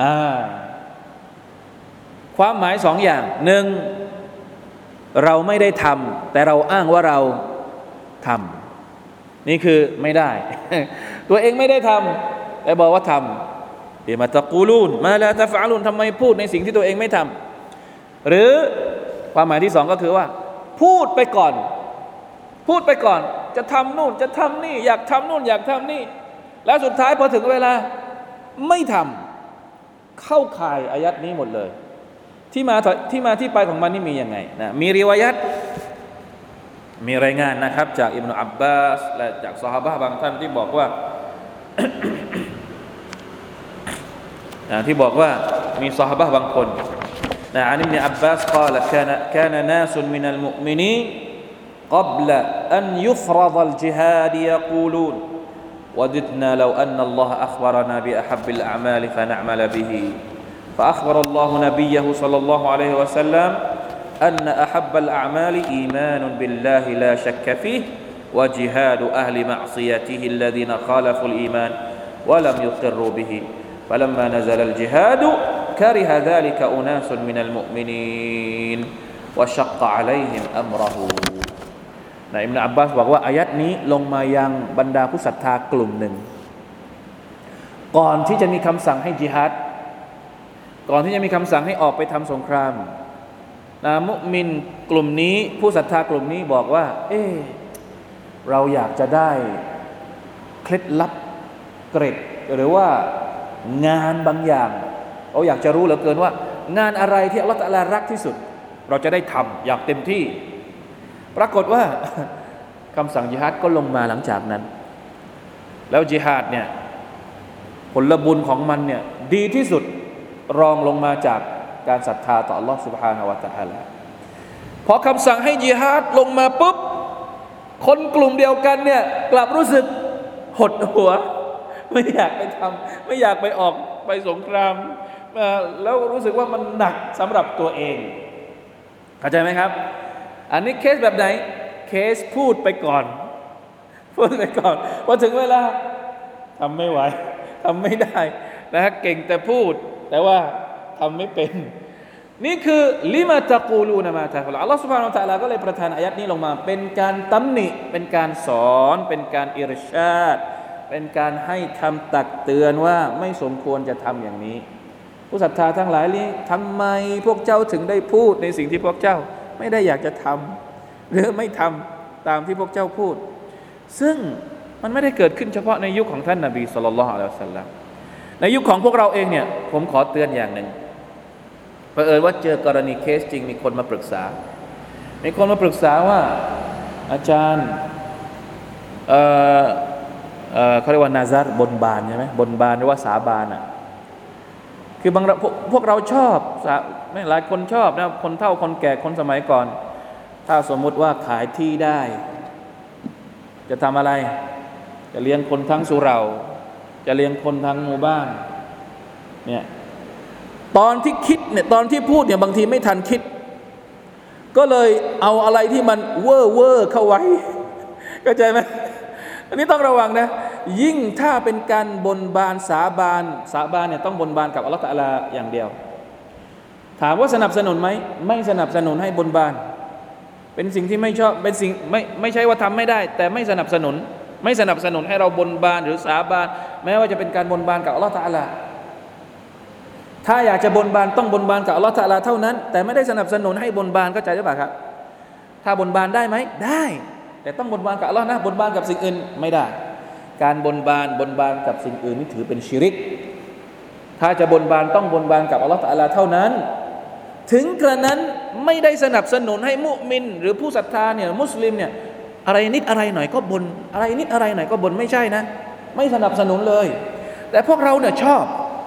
[SPEAKER 1] ความหมายสองอย่างหนึ่งเราไม่ได้ทำแต่เราอ้างว่าเราทำนี่คือไม่ได้ ตัวเองไม่ได้ทำแต่บอกว่าทำบิมาตะกูลูนมาลาตะฟะลูนทำไมพูดในสิ่งที่ตัวเองไม่ทำหรือความหมายที่สองก็คือว่าพูดไปก่อนจะทำนู่นจะทำนี่อยากทำนู่นอยากทำนี่แล้วสุดท้ายพอถึงเวลาไม่ทำเข้าข่ายอายัดนี้หมดเลยที่มาที่ไปของมันนี่มียังไงนะมีริวายัตมีรายงานนะครับจากอิบนุอับบาสและจากซอฮาบะห์บางท่านที่บอกว่า ที่บอกว่ามีซอฮาบะห์บางคนนะอันอิบนุอับบาสกล่าวكان ناس من المؤمنين قبل أن يفرض الجهاد يقولون وددنا لو أن الله أخبرنا بأحب الأعمال فنعمل به فأخبر الله نبيه صلى الله عليه وسلم أن أحب الأعمال إيمان بالله لا شك فيه وجهاد أهل معصيته الذين خالفوا الإيمان ولم يقروا به فلما نزل الجهاد كره ذلك أناس من المؤمنين وشق عليهم أمره นะอิบนุอับบาสบอกว่าอายัดนี้ลงมายังบรรดาผู้ศรัทธากลุ่มหนึ่งก่อนที่จะมีคำสั่งให้ญิฮาดก่อนที่จะมีคำสั่งให้ออกไปทำสงครามนะมุมินกลุ่มนี้ผู้ศรัทธากลุ่มนี้บอกว่าเราอยากจะได้เคล็ดลับเกร็ดหรือว่างานบางอย่างเราอยากจะรู้เหลือเกินว่างานอะไรที่อัลเลาะห์ตะอาลารักที่สุดเราจะได้ทำอย่างเต็มที่ปรากฏว่าคำสั่งญิฮาดก็ลงมาหลังจากนั้นแล้วญิฮาดเนี่ยผลบุญของมันเนี่ยดีที่สุดรองลงมาจากการศรัทธาต่ออัลเลาะห์ซุบฮานะฮูวะตะอาลาพอคำสั่งให้ญิฮาดลงมาปุ๊บคนกลุ่มเดียวกันเนี่ยกลับรู้สึกหดหัวไม่อยากไปทำไม่อยากไปออกไปสงครามแล้วรู้สึกว่ามันหนักสำหรับตัวเองเข้าใจไหมครับอันนี้เคสแบบไหนเคสพูดไปก่อนพอถึงเวลาทำไม่ไหวทำไม่ได้นะฮะเก่งแต่พูดแต่ว่าทำไม่เป็นนี่คือลิมาตะกูลูนะมาตะกุลอัลลอฮฺซุบฮานะฮูวะตะอาลาก็เลยประทานอายัดนี้ลงมาเป็นการตำหนิเป็นการสอนเป็นการอิรชาดเป็นการให้คำตักเตือนว่าไม่สมควรจะทำอย่างนี้ผู้ศรัทธาทั้งหลายนี้ทำไมพวกเจ้าถึงได้พูดในสิ่งที่พวกเจ้าไม่ได้อยากจะทำหรือไม่ทำตามที่พวกเจ้าพูดซึ่งมันไม่ได้เกิดขึ้นเฉพาะในยุคของท่านนบีศ็อลลัลลอฮุอะลัยฮิวะซัลลัมในยุคของพวกเราเองเนี่ยผมขอเตือนอย่างหนึ่งเผอิญว่าเจอกรณีเคสจริงมีคนมาปรึกษาว่าอาจารย์เขาเรียกว่านาซาร์บนบานใช่ไหมบนบานหรือว่าสาบานอ่ะคือบางพวกเราชอบหลายคนชอบนะคนเฒ่าคนแก่คนสมัยก่อนถ้าสมมุติว่าขายที่ได้จะทำอะไรจะเลี้ยงคนทั้งสุเหร่าจะเลี้ยงคนทั้งหมู่บ้านเนี่ยตอนที่คิดเนี่ยตอนที่พูดเนี่ยบางทีไม่ทันคิดก็เลยเอาอะไรที่มันเว่อร์เข้าไว้เข้าใจไหมอันนี้ต้องระวังนะยิ่งถ้าเป็นการบนบานสาบานเนี่ยต้องบนบานกับอัลเลาะห์ตะอาลาอย่างเดียวถามว่าสนับสนุนไหมไม่สนับสนุนให้บนบานเป็นสิ่งที่ไม่ชอบเป็นสิ่งไม่ใช่ว่าทำไม่ได้แต่ไม่สนับสนุนให้เราบนบานหรือสาบานแม้ว่าจะเป็นการบนบานกับอัลเลาะห์ตะอาลาถ้าอยากจะบนบานต้องบนบานกับอัลเลาะห์ตะอาลาเท่านั้นแต่ไม่ได้สนับสนุนให้บนบานเข้าใจหรือเปล่าครับถ้าบนบานได้ไหมได้แต่ต้องบนบานกับอัลเลาะห์นะบนบานกับสิ่งอื่นไม่ได้การบนบานกับสิ่งอื่นนี่ถือเป็นชิริกถ้าจะบนบานต้องบนบานกับอัลเลาะห์ตะอาลาเท่านั้นถึงกระนั้นไม่ได้สนับสนุนให้มุมินหรือผู้ศรัทธาเนี่ยมุสลิมเนี่ยอะไรนิดอะไรหน่อยก็บนอะไรนิดอะไรหน่อยก็บนไม่ใช่นะไม่สนับสนุนเลยแต่พวกเราเนี่ยชอบ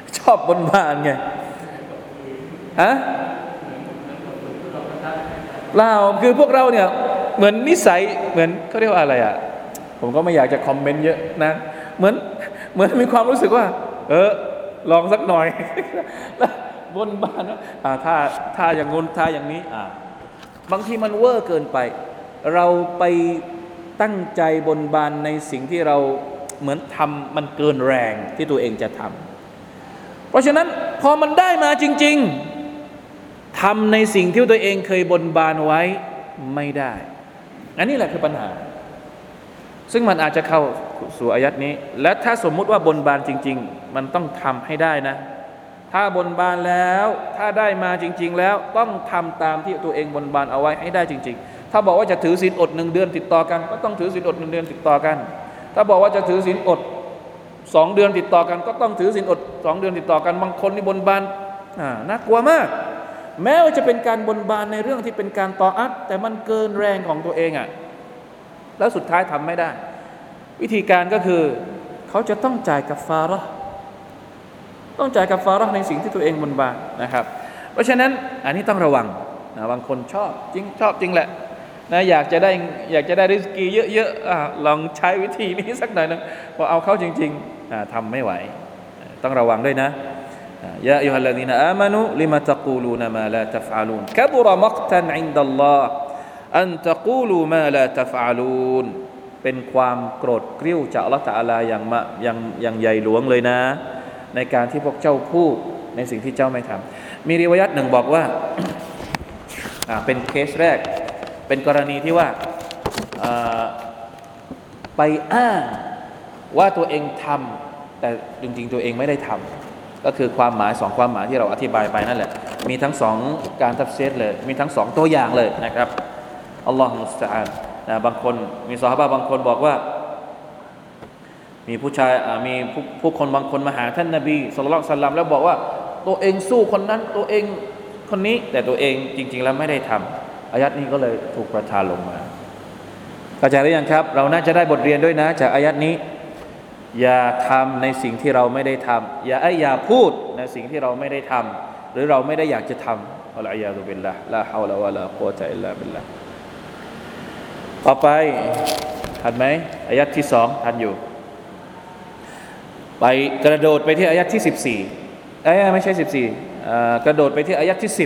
[SPEAKER 1] ชอบบนบานไงฮะเราคือพวกเราเนี่ยเหมือนนิสัยเหมือนเขาเรียกว่าอะไรอ่ะผมก็ไม่อยากจะคอมเมนต์เยอะนะเหมือนมีความรู้สึกว่าลองสักหน่อยแล้วบนบานถ้าอย่างงู้นถ้าอย่างนี้บางทีมันเวอร์เกินไปเราไปตั้งใจบนบานในสิ่งที่เราเหมือนทำมันเกินแรงที่ตัวเองจะทำเพราะฉะนั้นพอมันได้มาจริงๆทำในสิ่งที่ตัวเองเคยบนบานไว้ไม่ได้อันนี้แหละคือปัญหาซึ่งมันอาจจะเข้าสู่อายัดนี้และถ้าสมมุติว่าบนบานจริงๆมันต้องทำให้ได้นะถ้าบนบานแล้วถ้าได้มาจริงๆแล้วต้องทำตามที่ตัวเองบนบานเอาไว้ให้ได้จริงๆถ้าบอกว่าจะถือศีลอด1 เดือนติดต่อกันก็ต้องถือศีลอด1 เดือนติดต่อกันถ้าบอกว่าจะถือศีลอด2 เดือนติดต่อกันก็ต้องถือศีลอด2 เดือนติดต่อกันบางคนนี่บนบานน่ากลัวมากแม้ว่าจะเป็นการบนบานในเรื่องที่เป็นการตออัตแต่มันเกินแรงของตัวเองแล้วสุดท้ายทำไม่ได้วิธีการก็คือเขาจะต้องจ่ายกัฟฟาเราะห์ต้องจ่ายกัฟฟาเราะห์ในสิ่งที่ตัวเองบนบานนะครับเพราะฉะนั้นอันนี้ต้องระวังนะบางคนชอบจริงแหละนะอยากจะได้ริสกีเยอะๆลองใช้วิธีนี้สักหน่อยนึงพอเอาเข้าจริงๆทำไม่ไหวต้องระวังด้วยนะยาอัยยูฮัลลซีนาอามานูลิมาตะกูลูนมาลาตัฟอะลูนกะบุรมักตันอินดัลลอฮ์อันตะกูลูมาลาตัฟอะลูนเป็นความโกรธกริ้วจากอัลเลาะห์ตะอาลาอย่างใหญ่หลวงเลยนะในการที่พวกเจ้าพูดในสิ่งที่เจ้าไม่ทำมีริวายัตหนึ่งบอกว่า เป็นเคสแรกเป็นกรณีที่ว่าไปอ้างว่าตัวเองทำแต่จริงๆตัวเองไม่ได้ทำก็คือความหมาย2ความหมายที่เราอธิบายไปนั่นแหละมีทั้ง2การตัฟซีรเลยมีทั้ง2ตัวอย่างเลยนะครับอัลลอฮฺมุสตะอานะบางคนมีซอฮาบะห์บางคนบอกว่ามีผู้ชายมีผู้คนบางคนมาหาท่านนบีศ็อลลัลลอฮุอะลัยฮิวะซัลลัมแล้วบอกว่าตัวเองสู้คนนั้นตัวเองคนนี้แต่ตัวเองจริงๆแล้วไม่ได้ทำอายัดนี้ก็เลยถูกประทานลงมาเข้าใจหรือยังครับเราน่าจะได้บทเรียนด้วยนะจากอายัดนี้อย่าทำในสิ่งที่เราไม่ได้ทำอย่าพูดในสิ่งที่เราไม่ได้ทำหรือเราไม่ได้อยากจะทำอัลลอฮฺบิลลาห์ลาฮาวละวะลากุวะตะอิลลาบิลลาห์ต่อไปทันไหมอายัดที่2ทันอยู่ไปกระโดดไปที่อายัดที่14ไม่ใช่14กระโดดไปที่อายัดที่10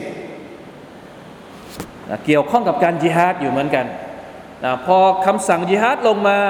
[SPEAKER 1] เกี่ยวข้องกับการญิฮาดอยู่เหมือนกันพอคำสั่งญิฮาดลงมา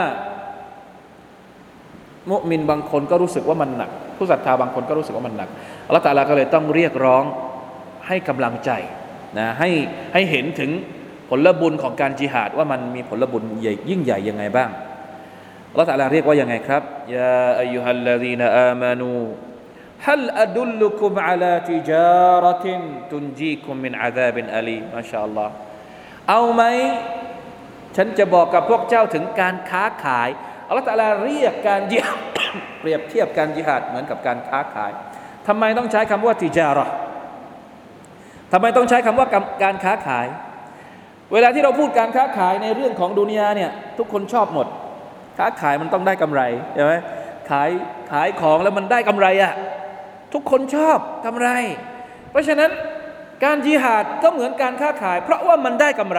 [SPEAKER 1] มุมินบางคนก็รู้สึกว่ามันหนักผู้ศรัทธาบางคนก็รู้สึกว่ามันหนักอัลเลาะห์ตะอาลาก็เลยต้องเรียกร้องให้กำลังใจนะให้เห็นถึงผลบุญของการญิฮาดว่ามันมีผลบุญใหญ่ยิ่งใหญ่ยังไงบ้างอัลเลาะห์ตะอาลาเรียกว่ายังไงครับยาอัยยูฮัลลซีนาอามานูฮัลอดุลลุกุมอะลาติจาระตินตุนจีกุมมินอะซาบินอะลีมาชาอัลลอฮ์เอาไหมฉันจะบอกกับพวกเจ้าถึงการค้าขายอัลเลาะห์ตะอาลาเรียกการญิฮาด เปรียบเทียบการญิฮาดเหมือนกับการค้าขายทำไมต้องใช้คำว่าติจาระห์ทำไมต้องใช้คำว่าการค้าขายเวลาที่เราพูดการค้าขายในเรื่องของดุนยาเนี่ยทุกคนชอบหมดค้าขายมันต้องได้กำไรใช่ไหมขายของแล้วมันได้กำไรทุกคนชอบกำไรเพราะฉะนั้นการญิฮาดก็เหมือนการค้าขายเพราะว่ามันได้กำไร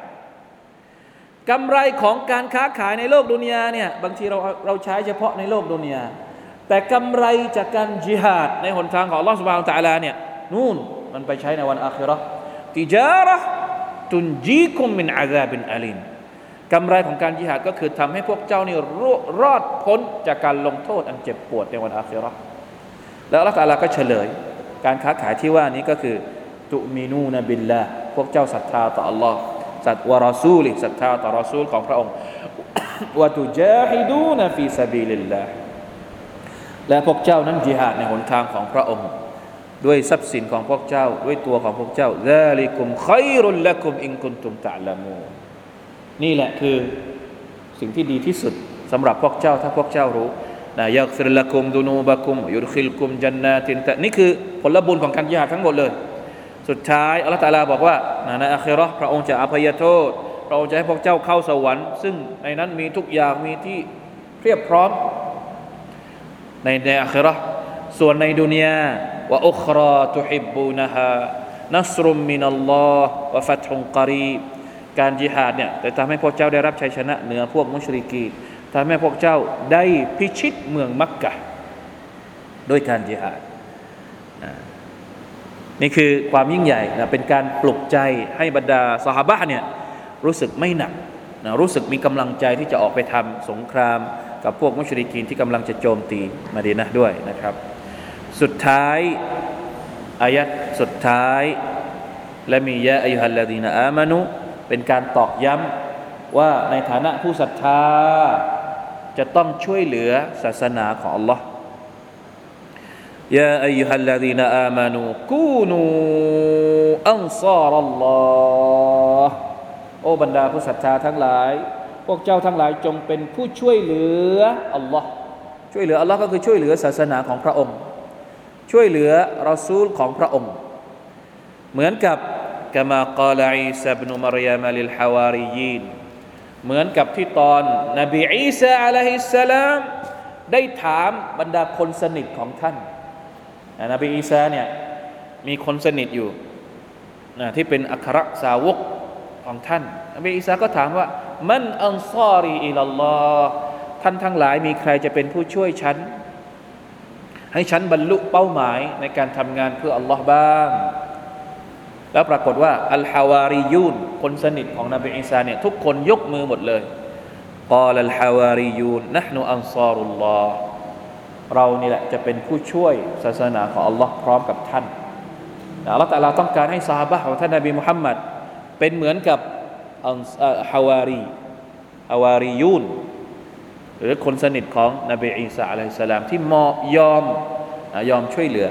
[SPEAKER 1] ของการค้าขายในโลกดุนยาเนี่ยบางทีเราใช้เฉพาะในโลกดุนยาแต่กำไรจากการญิฮาดในหนทางของอัลเลาะห์ซุบฮานะฮูวะตะอาลาเนี่ยนู่นมันไปใช้ในวันอาคิเราะห์ติจาระห์ตุนจีกุมมินอะซาบินอะลีมกำไรของการญิฮาดก็คือทำให้พวกเจ้านี่รอดพ้นจากการลงโทษอันเจ็บปวดในวันอาคิเราะห์แล้วอัลเลาะห์ตะอาลาก็เฉลยการค้าขายที่ว่านี้ก็คือตุมินูนบิลลาห์พวกเจ้าศรัทธาต่ออัลเลาะห์ศรัทธารอซูลิศรัทธาต่อรอซูลของพระองค์วะตุจาฮิดูนฟีซะบีลิลลาห์และพวกเจ้านั้นญิฮาดในหนทางของพระองค์ด้วยทรัพย์สินของพวกเจ้าด้วยตัวของพวกเจ้าซาลิกุมค็อยรุลละกุมอินกุนตุมตะละมูนนี่แหละคือสิ่งที่ดีที่สุดสำหรับพวกเจ้าถ้าพวกเจ้ารู้นะยักฟิรละกุมดุนูบะกุมยุดคิลกุมจันนาตินนี่คือผลบุญของการญิฮาดทั้งหมดเลยสุดท้ายอัลเลาะห์ตะอาลาบอกว่าในอาคิเราะห์พระองค์จะอภัยโทษพระองค์จะให้พวกเจ้าเข้าสวรรค์ซึ่งในนั้นมีทุกอย่างมีที่เพียบพร้อมในอาคิเราะห์ส่วนในดุนยาวะอุคราตุฮิบบูนะฮานัสรุมมินัลลอฮ์วะฟัตฮุนกอรีบการญิฮาดเนี่ยจะทำให้พวกเจ้าได้รับชัยชนะเหนือพวกมุชริกีนทำให้พวกเจ้าได้พิชิตเมืองมักกะฮ์ด้วยการญิฮาดนี่คือความยิ่งใหญ่นะเป็นการปลุกใจให้บรรดาซอฮาบะห์เนี่ยรู้สึกไม่หนักนะรู้สึกมีกำลังใจที่จะออกไปทำสงครามกับพวกมุชริกีนที่กำลังจะโจมตีมะดีนะห์ด้วยนะครับสุดท้ายอายัดสุดท้ายและมียะอัยยูฮัลลาดีนอามานุเป็นการตอกย้ำว่าในฐานะผู้ศรัทธาจะต้องช่วยเหลือศาสนาของอัลลอฮ์ยาอัยยูฮัลลาดีนอามานุกูนูอันซารัลลอฮ์โอ้บรรดาผู้ศรัทธาทั้งหลายพวกเจ้าทั้งหลายจงเป็นผู้ช่วยเหลืออัลลอฮ์ช่วยเหลืออัลลอฮ์ก็คือช่วยเหลือศาสนาของพระองค์ช่วยเหลือรอซูลของพระองค์เหมือนกับกะมากาลาอีซาอิบนุมารยามลิลฮาวาริยีนเหมือนกับที่ตอนนบีอีสาอะลัยฮิสสลามได้ถามบรรดาคนสนิทของท่านนบีอีสาเนี่ยมีคนสนิทอยู่ที่เป็นอัครสาวกของท่านนบีอีสาก็ถามว่ามันอันซารีอิลัลลอฮ์ท่านทั้งหลายมีใครจะเป็นผู้ช่วยฉันให้ฉันบรรลุเป้าหมายในการทำงานเพื่ออัลลอฮ์บ้างแล้วปรากฏว่าอัลฮาวาริยูนคนสนิทของนบีอีสาเนี่ยทุกคนยกมือหมดเลยกาลัลฮาวาริยูนนะห์นุอันซารุลลอฮ์เรานี่แหละจะเป็นผู้ช่วยศาสนาของอัลลอฮ์พร้อมกับท่านอัลลอฮ์ตะอาลาต้องการให้ซอฮาบะห์ของท่านนบีมุฮัมมัดเป็นเหมือนกับฮาวาริยูนหรือคนสนิทของนบีอีสาอะลัยฮิสสลามที่ยอมช่วยเหลือ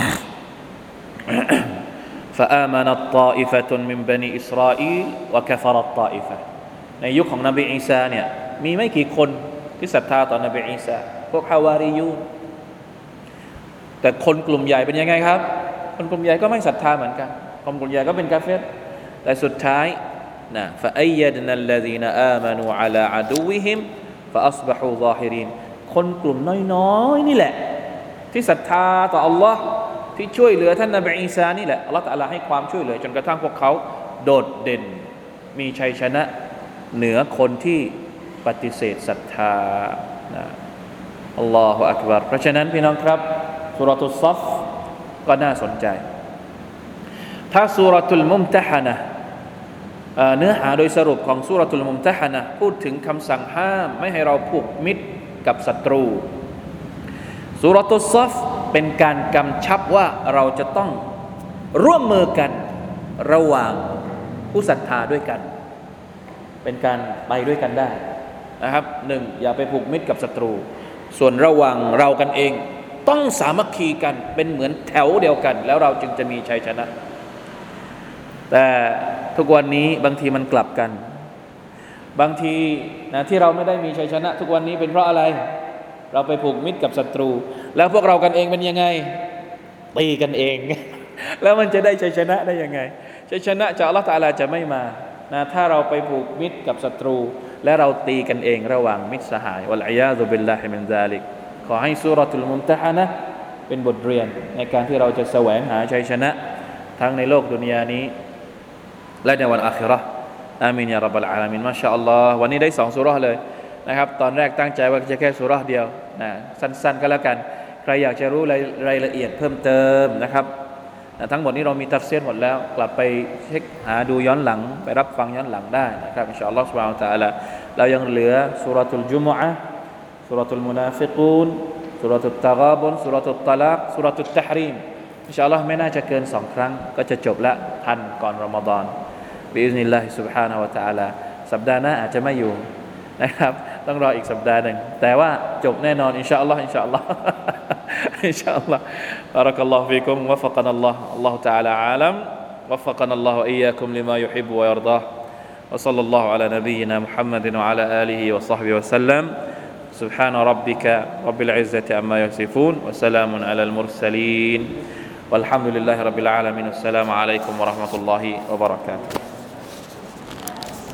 [SPEAKER 1] فآمنت طائفة من بني إسرائيل وكفرت طائفة ในยุคของนบีอีสาเนี่ยมีไม่กี่คนที่ศรัทธาต่อนบีอีสาพวกฮาวาริยูนแต่คนกลุ่มใหญ่เป็นยังไงครับคนกลุ่มใหญ่ก็ไม่ศรัทธาเหมือนกันคนกลุ่มใหญ่ก็เป็นกาเฟรแต่สุดท้ายนะفأيدنا الذين آمنوا على عدوهم فأصبحوا ظاهرين คนกลุ่มน้อยๆนี่แหละที่ศรัทธาต่ออัลลอฮ์ที่ช่วยเหลือท่านนบีอีสานี่แหละอัลลอฮฺตะอาลาให้ความช่วยเหลือจนกระทั่งพวกเขาโดดเด่นมีชัยชนะเหนือคนที่ปฏิเสธศรัทธาอัลลอฮฺอักบัรเพราะฉะนั้นพี่น้องครับซูเราะตุศศก็น่าสนใจถ้าซูเราะตุลมุมตะฮะนะห์เนื้อหาโดยสรุปของซูเราะตุลมุมตะฮะนะห์พูดถึงคำสั่งห้ามไม่ให้เราผูกมิตรกับศัตรูซูเราะตุศศเป็นการกำชับว่าเราจะต้องร่วมมือกันระหว่างผู้ศรัทธาด้วยกันเป็นการไปด้วยกันได้นะครับหนึ่งอย่าไปผูกมิตรกับศัตรูส่วนระหว่างเรากันเองต้องสามัคคีกันเป็นเหมือนแถวเดียวกันแล้วเราจึงจะมีชัยชนะแต่ทุกวันนี้บางทีมันกลับกันบางทีนะที่เราไม่ได้มีชัยชนะทุกวันนี้เป็นเพราะอะไรเราไปผูกมิตรกับศัตรูแล้วพวกเรากันเองเป็นยังไงตีกันเอง แล้วมันจะได้ชัยชนะได้ยังไงชัยชนะจากอัลเลาะห์ตะอาลาจะไม่มานะถ้าเราไปผูกมิตรกับศัตรูและเราตีกันเองระหว่างมิตรสหายวัลอียาซุบิลลาฮิมินซาลิกขอให้ซูเราะตุลมุมตะฮะนะห์เป็นบทเรียนในการที่เราจะแสวงหาชัยชนะทั้งในโลกดุนยานี้และในวันอาคิเราะห์อามีนยาร็อบบัลอาลามีนมาชาอัลลอฮ์วันนี้ได้2ซูเราะห์เลยนะครับตอนแรกตั้งใจว่าจะแค่ซูเราะห์เดียวนะสั้นๆก็แล้วกันใครอยากจะรู้รายละเอียดเพิ่มเติมนะครับทั้งหมดนี้เรามีตัฟซีรหมดแล้วกลับไปเช็คหาดูย้อนหลังไปรับฟังย้อนหลังได้นะครับอินชาอัลลอฮ์ซุบฮานะฮูวะตะอาลาเรายังเหลือซูเราะตุลจุมอะห์ซูเราะตุลมุนาฟิกูนซูเราะตุตตะฆาบุนซูเราะตุตตะลากซูเราะตุตตะฮรีมอินชาอัลลอฮ์ไม่น่าจะเกิน2ครั้งก็จะจบละทันก่อนรอมฎอนบิอิซนิลลาฮิซุบฮานะฮูวะตะอาลาสัปดาห์หน้าอาจจะไม่อยู่นะครับต้องรออีกสัปดาห์นึงแต่ว่าจบแน่นอนอินชาอัลลอฮ์อินชาอัลลอฮ์อินชาอัลลอฮ์บารักัลลอฮุฟีกุมวะฟักนะอัลลอฮ์อัลลอฮุตะอาลาอาลัมวะฟักนะอัลลอฮุวะอียากุมลิมายุฮิบบุวะยัรฎอฮ์วะศ็อลลัลลอฮุอะลานบียินามุฮัมมัดวะอะลาอาลิฮิวะศ็อฮบิฮิวะซัลลัมسبحان ربك رب العزة عما يصفون وسلام على المرسلين والحمد لله رب العالمين السلام عليكم ورحمة الله وبركاته